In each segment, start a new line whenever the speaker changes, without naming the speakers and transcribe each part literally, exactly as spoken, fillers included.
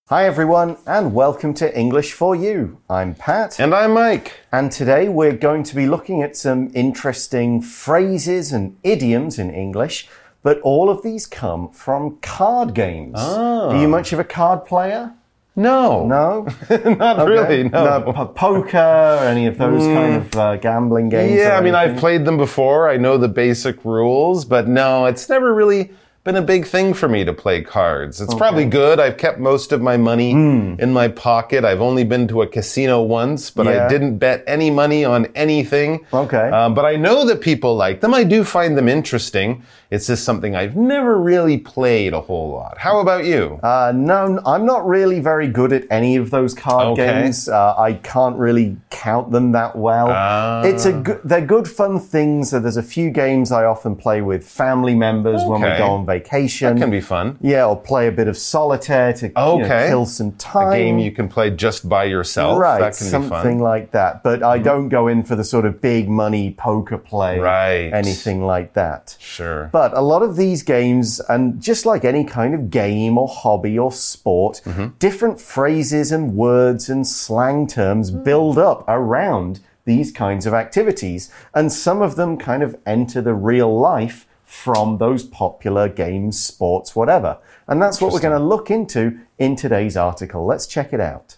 Hi everyone, and welcome to English for You. I'm Pat.
And I'm Mike.
And today we're going to be looking at some interesting phrases and idioms in English, but all of these come from card games.
Oh.
Are you much of a card player?
No.
No?
Not
okay.
really, no.
No, poker, any of those mm. kind of uh, gambling games?
Yeah, I mean, I've played them before. I know the basic rules, but no, it's never really been a big thing for me to play cards. It's okay. Probably good. I've kept most of my money mm. in my pocket. I've only been to a casino once, but yeah. I didn't bet any money on anything.
Okay.
Um, but I know that people like them. I do find them interesting. It's just something I've never really played a whole lot. How about you?
Uh, no, I'm not really very good at any of those card
okay.
games. Uh, I can't really count them that well.
Uh.
It's a good, they're good fun things. So there's a few games I often play with family members
okay.
when we go on vacation.
That can be fun.
Yeah, or play a bit of solitaire to
okay.
you know, kill some time.
A game you can play just by yourself.
Right,
that can
something
be fun.
like that. But I mm. don't go in for the sort of big money poker play,
right.
anything like that.
Sure.
But a lot of these games, and just like any kind of game or hobby or sport, mm-hmm. different phrases and words and slang terms mm. build up around these kinds of activities. And some of them kind of enter the real life from those popular games, sports, whatever. And that's what we're going to look into in today's article. Let's check it out.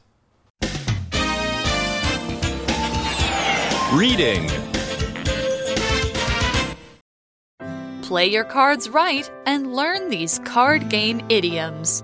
Reading.
Play your cards right and learn these card game idioms.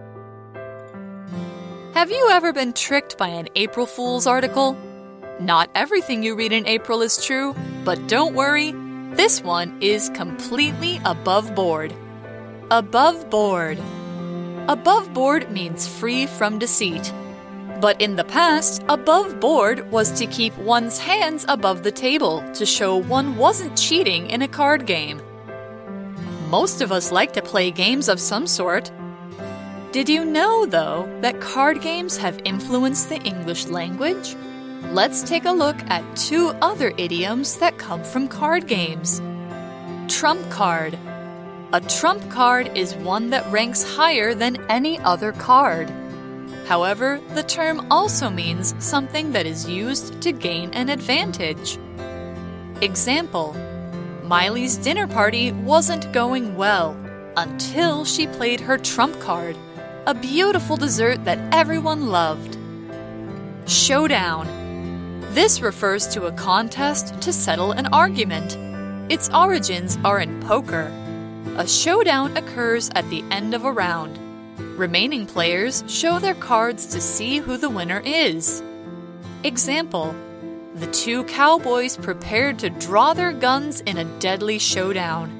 Have you ever been tricked by an April Fool's article? Not everything you read in April is true, but don't worry, this one is completely above board. Above board. Above board means free from deceit. But in the past, above board was to keep one's hands above the table to show one wasn't cheating in a card game. Most of us like to play games of some sort. Did you know, though, that card games have influenced the English language? Let's take a look at two other idioms that come from card games. Trump card. A trump card is one that ranks higher than any other card. However, the term also means something that is used to gain an advantage. Example: Miley's dinner party wasn't going well until she played her trump card, a beautiful dessert that everyone loved. Showdown. This refers to a contest to settle an argument. Its origins are in poker. A showdown occurs at the end of a round. Remaining players show their cards to see who the winner is. Example: The two cowboys prepared to draw their guns in a deadly showdown.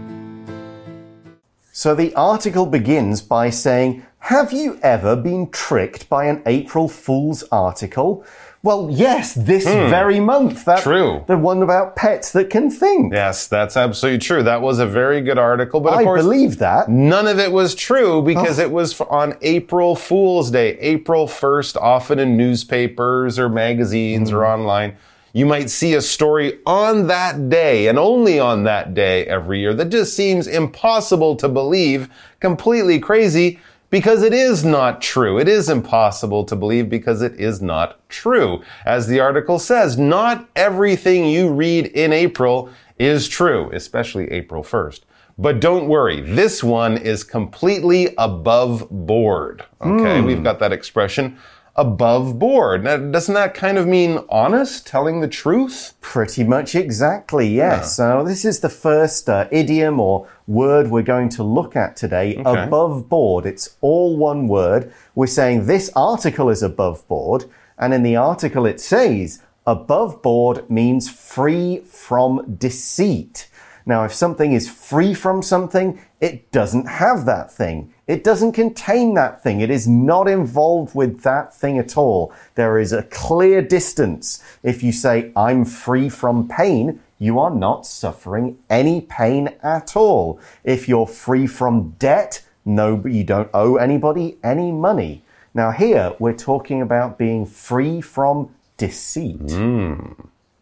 So the article begins by saying, have you ever been tricked by an April Fool's article? Well, yes, this hmm. very month. That,
true.
The one about pets that can think.
Yes, that's absolutely true. That was a very good article. But of
I
course,
believe that.
None of it was true because
oh.
it was on April Fool's Day. April first, often in newspapers or magazines mm. or online. You might see a story on that day and only on that day every year that just seems impossible to believe, completely crazy. Because it is not true. It is impossible to believe because it is not true. As the article says, not everything you read in April is true, especially April first. But don't worry, this one is completely above board. Okay, mm. We've got that expression, above board. Now, doesn't that kind of mean honest, telling the truth?
Pretty much exactly, yes. Yeah. So this is the first uh, idiom or word we're going to look at today, okay. Above board. It's all one word. We're saying this article is above board, and in the article it says, above board means free from deceit. Now, if something is free from something, it doesn't have that thing. It doesn't contain that thing. It is not involved with that thing at all. There is a clear distance. If you say, I'm free from pain, you are not suffering any pain at all. If you're free from debt, no, you don't owe anybody any money. Now here, we're talking about being free from deceit.
Mm.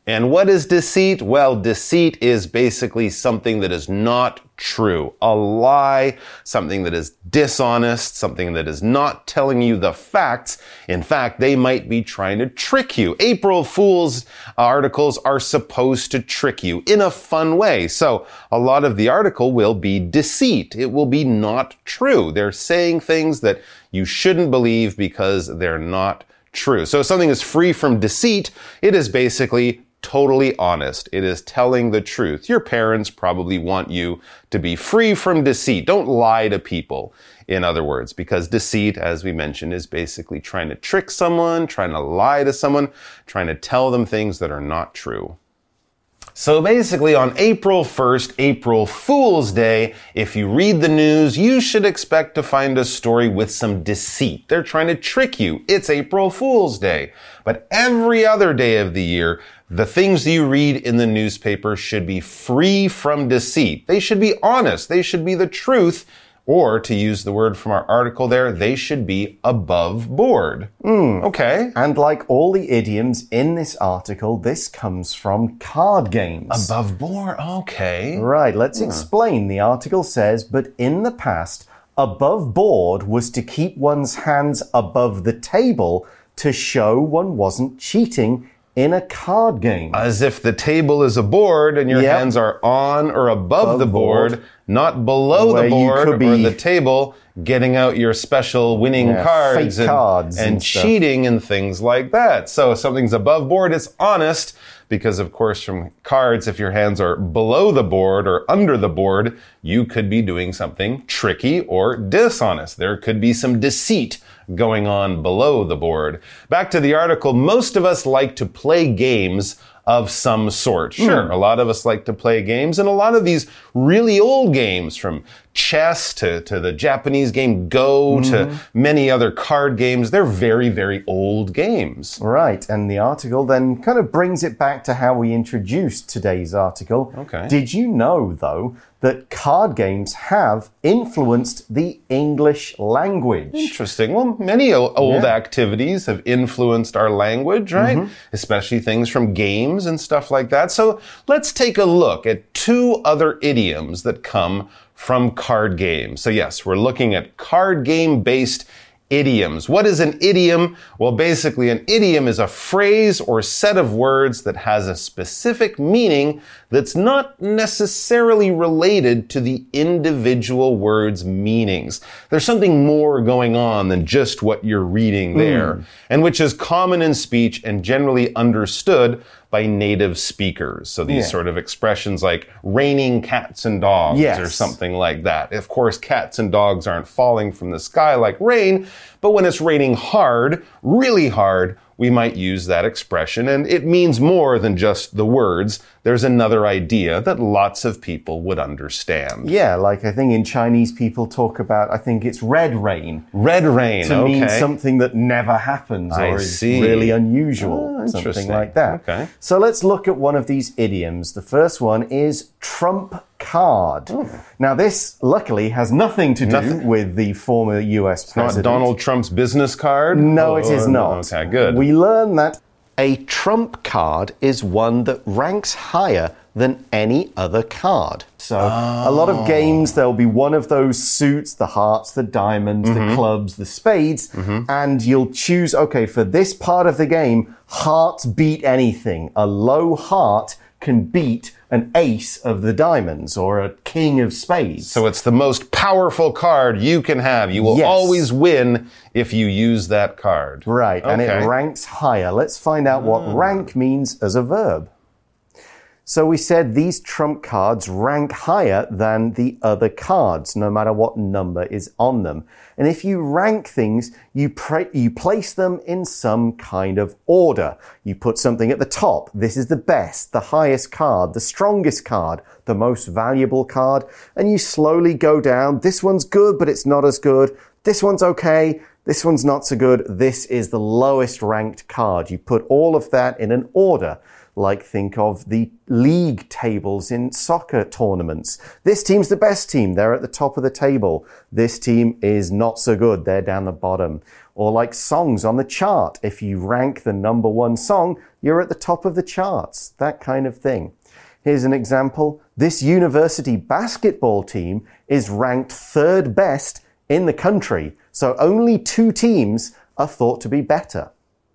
And what is deceit? Well, deceit is basically something that is not true. A lie, something that is dishonest, something that is not telling you the facts. In fact, they might be trying to trick you. April Fool's articles are supposed to trick you in a fun way. So a lot of the article will be deceit. It will be not true. They're saying things that you shouldn't believe because they're not true. So if something is free from deceit, it is basically totally honest. It is telling the truth. Your parents probably want you to be free from deceit. Don't lie to people, in other words, because deceit, as we mentioned, is basically trying to trick someone, trying to lie to someone, trying to tell them things that are not true. So basically on April first, April Fool's Day, if you read the news, you should expect to find a story with some deceit. They're trying to trick you. It's April Fool's Day. But every other day of the year, the things you read in the newspaper should be free from deceit. They should be honest. They should be the truth. Or, to use the word from our article there, they should be above board.
Mm.
Okay.
And like all the idioms in this article, this comes from card games.
Above board, okay.
Right, let's yeah. explain. The article says, but in the past, above board was to keep one's hands above the table to show one wasn't cheating in a card game.
As if the table is a board and your yep. hands are on or above, above the board, board, not below the board or the table, getting out your special winning yeah, cards,
fake
and,
cards
and,
and
cheating and things like that. So if something's above board, it's honest. Because, of course, from cards, if your hands are below the board or under the board, you could be doing something tricky or dishonest. There could be some deceit going on below the board. Back to the article, most of us like to play games of some sort. Sure, mm. a lot of us like to play games, and a lot of these really old games, from chess to, to the Japanese game Go mm-hmm. to many other card games, they're very, very old games.
Right, and the article then kind of brings it back to how we introduced today's article.
Okay.
Did you know, though, that card games have influenced the English language?
Interesting. Well, many old
yeah.
activities have influenced our language, right? Mm-hmm. Especially things from games and stuff like that. So let's take a look at two other idioms that come from card games. So yes, we're looking at card game-based idioms. What is an idiom? Well, basically, an idiom is a phrase or set of words that has a specific meaning that's not necessarily related to the individual word's meanings. There's something more going on than just what you're reading there, mm. and which is common in speech and generally understood by native speakers. So these yeah. sort of expressions like raining cats and dogs
yes.
or something like that. Of course, cats and dogs aren't falling from the sky like rain, but when it's raining hard, really hard, we might use that expression, and it means more than just the words. There's another idea that lots of people would understand.
Yeah, like I think in Chinese people talk about, I think it's red rain.
Red rain,
to
okay.
mean something that never happens or
I
is
see.
really unusual.
Oh,
something like that.
Okay.
So let's look at one of these idioms. The first one is trump card.
Oh.
Now this, luckily, has nothing to do
nothing.
with the former U S
It's
president.
not Donald Trump's business card?
No,
oh,
it is not.
Okay, good.
We learn that a trump card is one that ranks higher than any other card. So
oh.
a lot of games, there'll be one of those suits, the hearts, the diamonds, mm-hmm. the clubs, the spades, mm-hmm. and you'll choose, okay, for this part of the game, hearts beat anything. A low heart can beat an ace of the diamonds or a king of spades.
So it's the most powerful card you can have. You will
yes.
always win if you use that card.
Right,
okay.
and it ranks higher. Let's find out what oh. rank means as a verb. So we said these trump cards rank higher than the other cards, no matter what number is on them. And if you rank things, you, you place them in some kind of order. You put something at the top. This is the best, the highest card, the strongest card, the most valuable card. And you slowly go down. This one's good, but it's not as good. This one's okay. This one's not so good. This is the lowest ranked card. You put all of that in an order. Like think of the league tables in soccer tournaments. This team's the best team. They're at the top of the table. This team is not so good. They're down the bottom. Or like songs on the chart. If you rank the number one song, you're at the top of the charts. That kind of thing. Here's an example. This university basketball team is ranked third best in the country. So only two teams are thought to be better.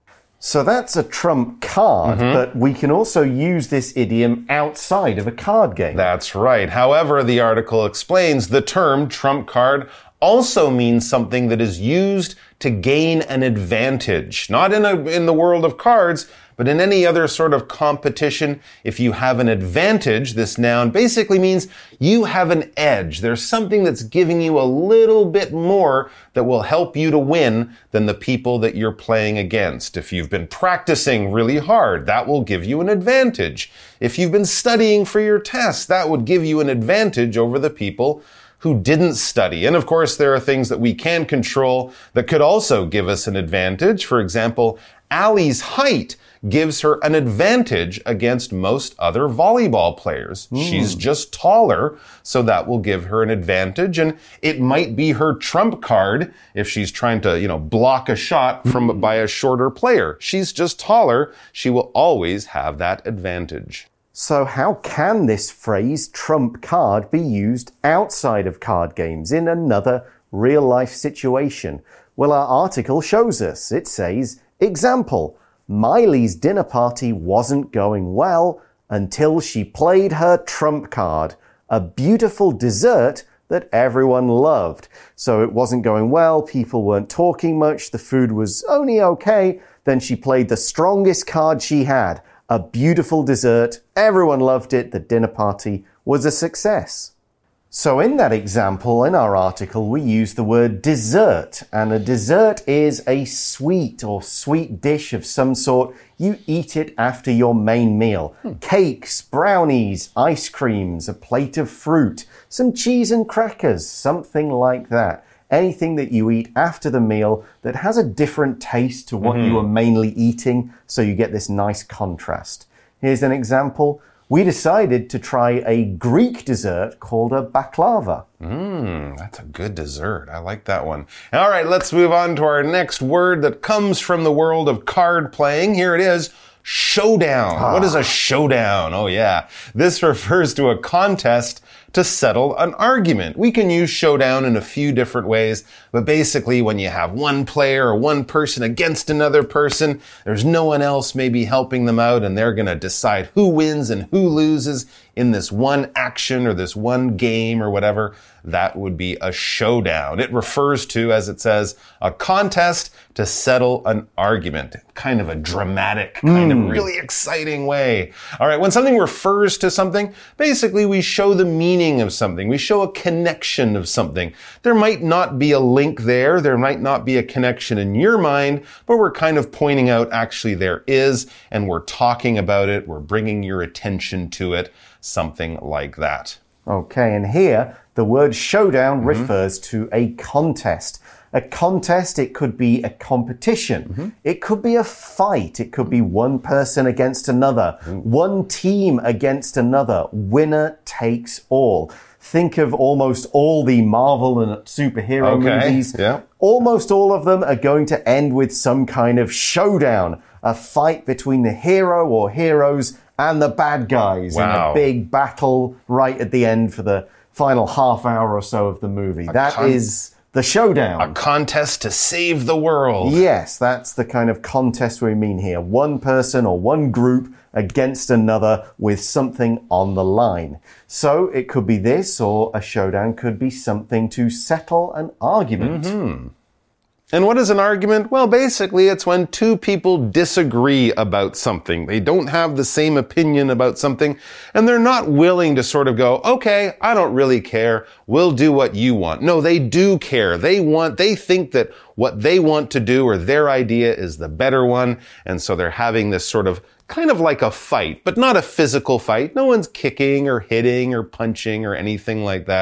So that's a trump card, mm-hmm. but we can also use this idiom outside of a card game.
That's right. However, the article explains the term trump card also means something that is used to gain an advantage. Not in, a, in the world of cards, but in any other sort of competition. If you have an advantage, this noun basically means you have an edge. There's something that's giving you a little bit more that will help you to win than the people that you're playing against. If you've been practicing really hard, that will give you an advantage. If you've been studying for your test, that would give you an advantage over the people who didn't study. And of course, there are things that we can control that could also give us an advantage. For example, Allie's height gives her an advantage against most other volleyball players. Mm. She's just taller, so that will give her an advantage. And it might be her trump card if she's trying to, you know, block a shot from mm. by a shorter player. She's just taller. She will always have that advantage.
So how can this phrase trump card be used outside of card games in another real-life situation? Well, our article shows us. It says, example, Miley's dinner party wasn't going well until she played her trump card, a beautiful dessert that everyone loved. So it wasn't going well, people weren't talking much, the food was only okay, then she played the strongest card she had, a beautiful dessert, everyone loved it, the dinner party was a success. So in that example, in our article, we use the word dessert. And a dessert is a sweet or sweet dish of some sort. You eat it after your main meal. Hmm. Cakes, brownies, ice creams, a plate of fruit, some cheese and crackers, something like that. Anything that you eat after the meal that has a different taste to what mm-hmm. you were mainly eating, so you get this nice contrast. Here's an example. We decided to try a Greek dessert called a baklava.
Mmm, that's a good dessert. I like that one. All right, let's move on to our next word that comes from the world of card playing. Here it is, showdown. Ah. What is a showdown? Oh, yeah. This refers to a contest to settle an argument. We can use showdown in a few different ways, but basically when you have one player or one person against another person, there's no one else maybe helping them out, and they're going to decide who wins and who loses in this one action or this one game or whatever. That would be a showdown. It refers to, as it says, a contest to settle an argument. Kind of a dramatic, kind mm. of really exciting way. All right, when something refers to something, basically we show the meaning of something. We show a connection of something. There might not be a link there. There might not be a connection in your mind, but we're kind of pointing out actually there is, and we're talking about it. We're bringing your attention to it. Something like that.
Okay, and here the word showdown mm-hmm. refers to a contest. A contest, it could be a competition. Mm-hmm. It could be a fight. It could be one person against another, mm. one team against another. Winner takes all. Think of almost all the Marvel and superhero
okay.
movies.
Yeah.
Almost all of them are going to end with some kind of showdown, a fight between the hero or heroes and the bad guys
wow.
in a big battle right at the end for the final half hour or so of the movie.
A
that is the showdown.
A contest to save the world.
Yes, that's the kind of contest we mean here. One person or one group against another with something on the line. So it could be this, or a showdown could be something to settle an argument.
Mm-hmm. And what is an argument? Well, basically, it's when two people disagree about something. They don't have the same opinion about something, and they're not willing to sort of go, okay, I don't really care. We'll do what you want. No, they do care. They want, they think that what they want to do or their idea is the better one, and so they're having this sort of kind of like a fight, but not a physical fight. No one's kicking or hitting or punching or anything like that.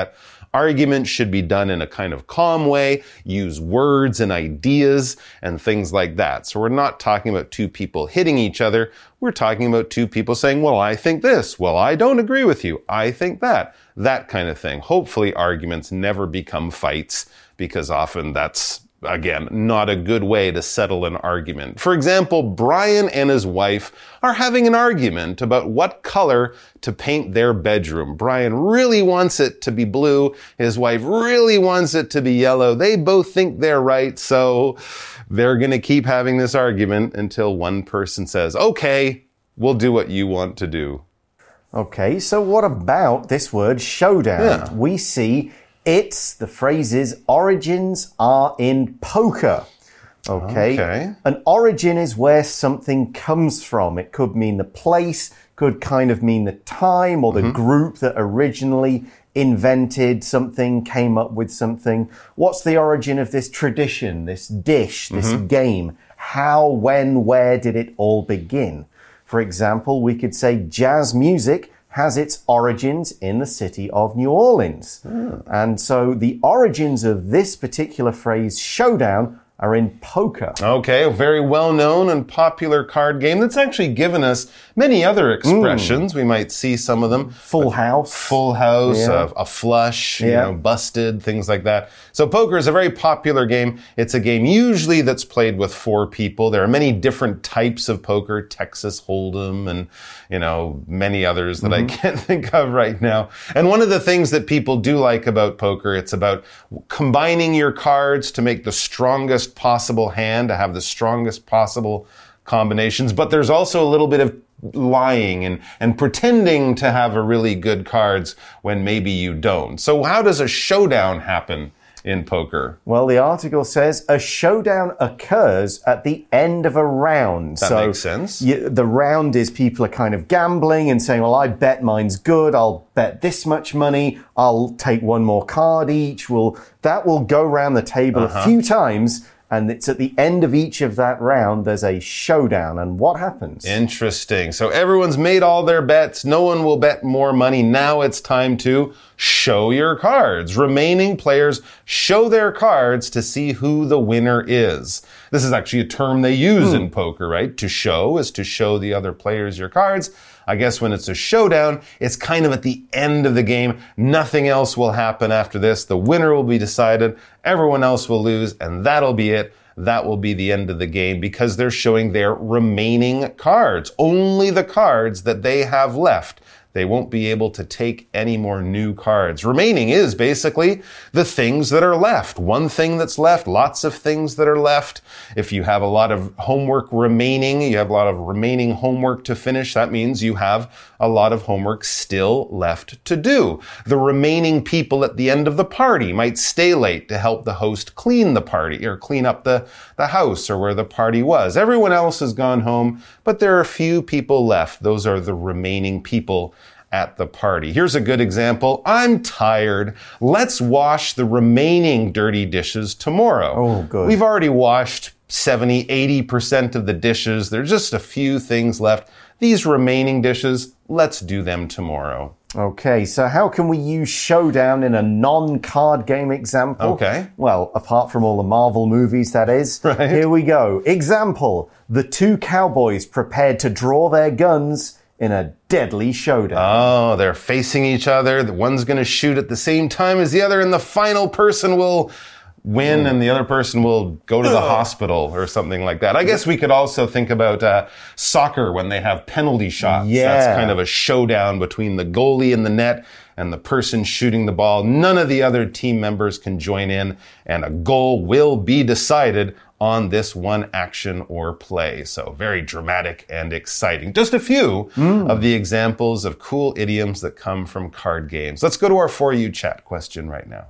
Arguments should be done in a kind of calm way, use words and ideas and things like that. So we're not talking about two people hitting each other. We're talking about two people saying, well, I think this. Well, I don't agree with you. I think that. That kind of thing. Hopefully arguments never become fights, because often that's, again, not a good way to settle an argument. For example, Brian and his wife are having an argument about what color to paint their bedroom. Brian really wants it to be blue. His wife really wants it to be yellow. They both think they're right, so they're going to keep having this argument until one person says, okay, we'll do what you want to do.
Okay, so what about this word showdown?
Yeah.
We see its, the phrase's origins are in poker. Okay.
Okay.
An origin is where something comes from. It could mean the place, could kind of mean the time or the mm-hmm. group that originally invented something, came up with something. What's the origin of this tradition, this dish, this mm-hmm. game? How, when, where did it all begin? For example, we could say jazz music has its origins in the city of New Orleans. Mm. And so the origins of this particular phrase, showdown, are in poker.
Okay, a very well-known and popular card game that's actually given us many other expressions. Mm. We might see some of them.
Full house.
Full house,
yeah.
a, a flush,
yeah.
you know, busted, things like that. So poker is a very popular game. It's a game usually that's played with four people. There are many different types of poker, Texas Hold'em and, you know, many others that mm-hmm. I can't think of right now. And one of the things that people do like about poker, it's about combining your cards to make the strongest possible hand, to have the strongest possible combinations. But there's also a little bit of lying and, and pretending to have a really good cards when maybe you don't. So how does a showdown happen in poker?
Well, the article says a showdown occurs at the end of a round.
That
so
makes sense.
You, the round is people are kind of gambling and saying, well, I bet mine's good. I'll bet this much money. I'll take one more card each. Well, that will go around the table uh-huh. a few times. And it's at the end of each of that round, there's a showdown. And what happens?
Interesting. So everyone's made all their bets. No one will bet more money. Now it's time to show your cards. Remaining players show their cards to see who the winner is. This is actually a term they use hmm. in poker, right? To show is to show the other players your cards. I guess when it's a showdown, it's kind of at the end of the game. Nothing else will happen after this. The winner will be decided. Everyone else will lose, and that'll be it. That will be the end of the game because they're showing their remaining cards. Only the cards that they have left. They won't be able to take any more new cards. Remaining is basically the things that are left. One thing that's left, lots of things that are left. If you have a lot of homework remaining, you have a lot of remaining homework to finish, that means you have a lot of homework still left to do. The remaining people at the end of the party might stay late to help the host clean the party or clean up the, the house or where the party was. Everyone else has gone home, but there are a few people left. Those are the remaining people at the party. Here's a good example. I'm tired. Let's wash the remaining dirty dishes tomorrow.
Oh, good.
We've already washed seventy, eighty percent of the dishes. There's just a few things left. These remaining dishes, let's do them tomorrow.
Okay, so how can we use showdown in a non-card game example?
Okay.
Well, apart from all the Marvel movies, that is.
Right.
Here we go. Example, the two cowboys prepared to draw their guns in a deadly showdown.
Oh, they're facing each other. The one's going to shoot at the same time as the other, and the final person will win, and the other person will go to the hospital or something like that. I guess we could also think about uh, soccer when they have penalty shots.
Yeah.
That's kind of a showdown between the goalie in the net and the person shooting the ball. None of the other team members can join in, and a goal will be decided on this one action or play. So very dramatic and exciting. Just a few mm. of the examples of cool idioms that come from card games. Let's go to our For You Chat question right now.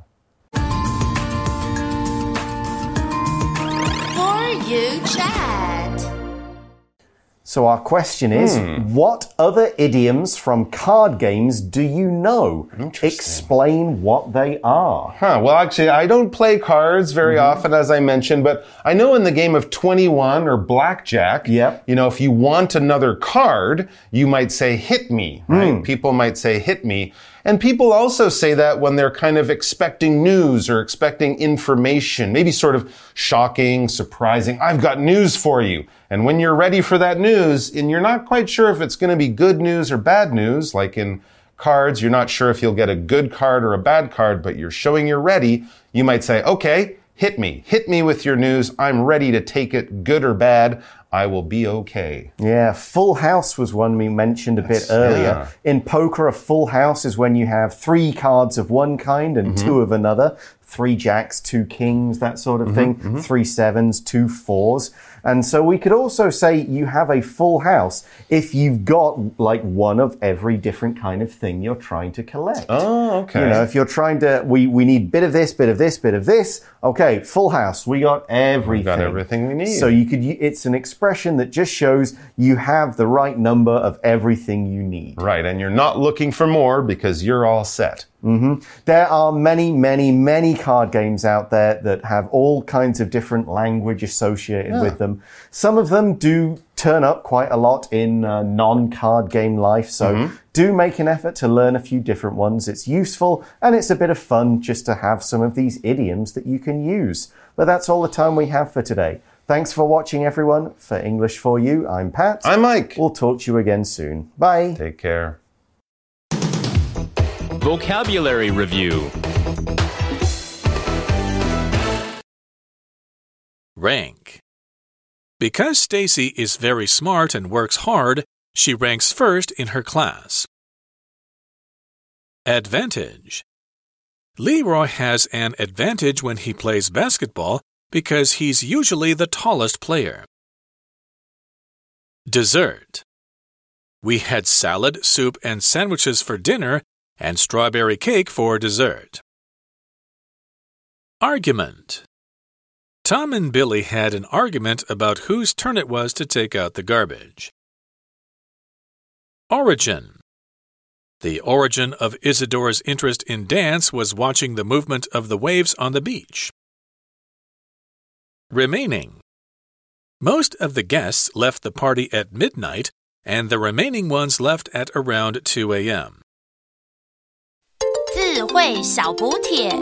For You Chat.
So our question is, hmm. what other idioms from card games do you know? Explain what they are.
Huh, well, actually, I don't play cards very mm-hmm. often, as I mentioned, but I know in the game of twenty-one or blackjack,
yep.
you know, if you want another card, you might say, hit me, right?
Mm.
People might say, hit me. And people also say that when they're kind of expecting news or expecting information, maybe sort of shocking, surprising. I've got news for you. And when you're ready for that news, and you're not quite sure if it's going to be good news or bad news, like in cards, you're not sure if you'll get a good card or a bad card, but you're showing you're ready, you might say, okay, hit me. Hit me with your news. I'm ready to take it, good or bad. I will be okay.
Yeah, full house was one we mentioned a
That's,
bit earlier.
yeah.
In poker, a full house is when you have three cards of one kind and mm-hmm. two of another. Three jacks, two kings, that sort of mm-hmm, thing. Mm-hmm. Three sevens, two fours. And so we could also say you have a full house if you've got like one of every different kind of thing you're trying to collect.
Oh, okay.
You know, if you're trying to, we, we need bit of this, bit of this, bit of this. Okay, full house. We got everything.
We got everything we need.
So you could, it's an expression that just shows you have the right number of everything you need.
Right, and you're not looking for more because you're all set.
Mm-hmm. There are many, many, many card games out there that have all kinds of different language associated yeah. with them. Some of them do turn up quite a lot in uh, non-card game life, so mm-hmm. do make an effort to learn a few different ones. It's useful and it's a bit of fun just to have some of these idioms that you can use. But that's all the time we have for today. Thanks for watching, everyone. For English for You, I'm Pat.
I'm Mike.
We'll talk to you again soon. Bye.
Take care.
Vocabulary Review. Rank. Because Stacy is very smart and works hard, she ranks first in her class. Advantage. Leroy has an advantage when he plays basketball because he's usually the tallest player. Dessert. We had salad, soup, and sandwiches for dinner and strawberry cake for dessert. Argument. Tom and Billy had an argument about whose turn it was to take out the garbage. Origin. The origin of Isadora's interest in dance was watching the movement of the waves on the beach. Remaining. Most of the guests left the party at midnight, and the remaining ones left at around two a m
智慧小補帖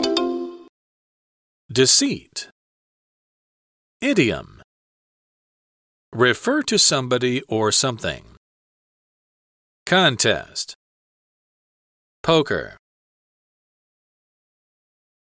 Deceit. Idiom. Refer to somebody or something. Contest. Poker.